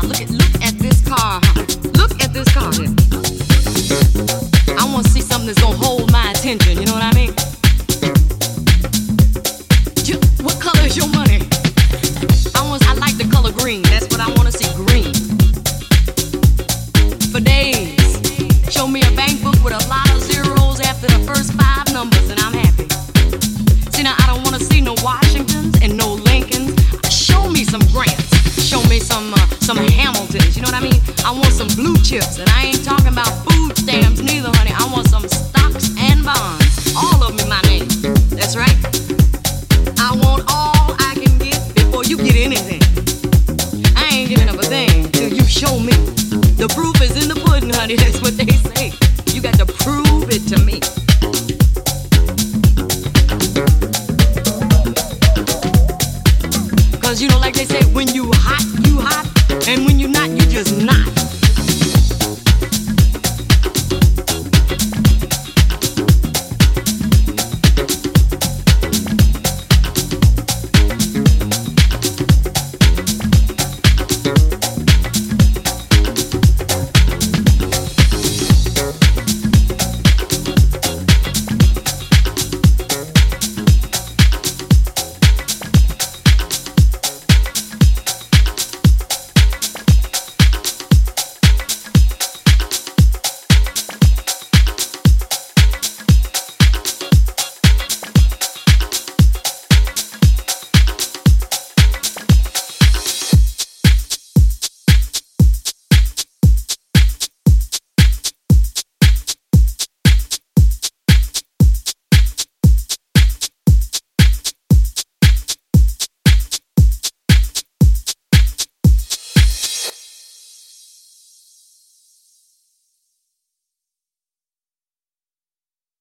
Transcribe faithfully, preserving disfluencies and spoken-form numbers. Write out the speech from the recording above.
look at look at this car, huh? Look at this car here. I want to see something that's gonna hold my attention. You know what I mean? You, what color is your money? I want. I like the color green. That's what I want to see. Green. For days, show me a bank book with a lot of zeros after the first five numbers, and I'm happy. See now, I don't want to see no Washingtons and no Lincolns. Show me some grants. Show me some uh, some Hamiltons. You know what I mean? I want some blue chips, and I ain't talking about food stamps neither, honey. I want some stocks and bonds. All of them in my name. That's right. I want all I can get before you get anything. I ain't giving up a thing till you show me. The proof is in the pudding, honey. That's what